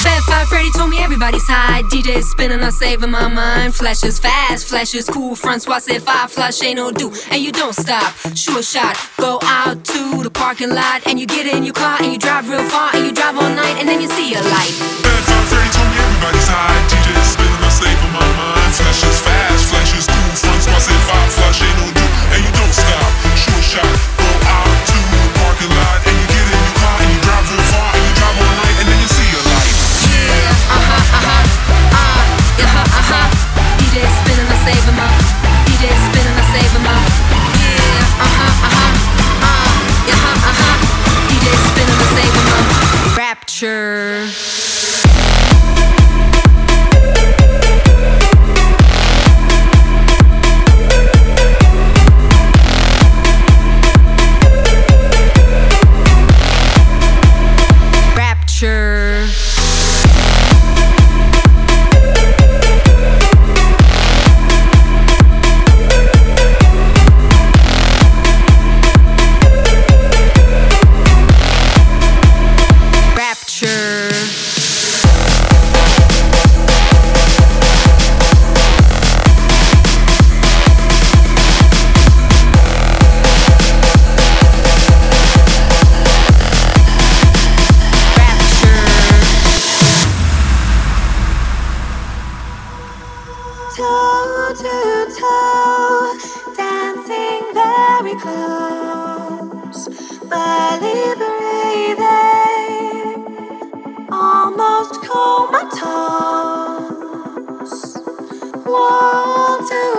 Fat Five Freddy told me everybody's high. DJ's spinning, I'm saving my mind. Flashes fast, flashes cool. Front squad said five flush ain't no do. And you don't stop, sure shot. Go out to the parking lot and you get in your car and you drive real far and you drive all night and then you see a light. Fat Five Freddy told me everybody's high. DJ's spinning, I'm saving my mind. Flashes fast, flashes cool. Front squad said five flush ain't no do. And you don't stop, sure shot. Go out to the parking lot and you get in your car and you drive real far and you drive all night and then you see a light. DJ spinning, I save him up. DJ spinning, I save him up. DJ spinning, I save him up. Rapture. Toe to toe, dancing very close, barely breathing, almost comatose. Wall to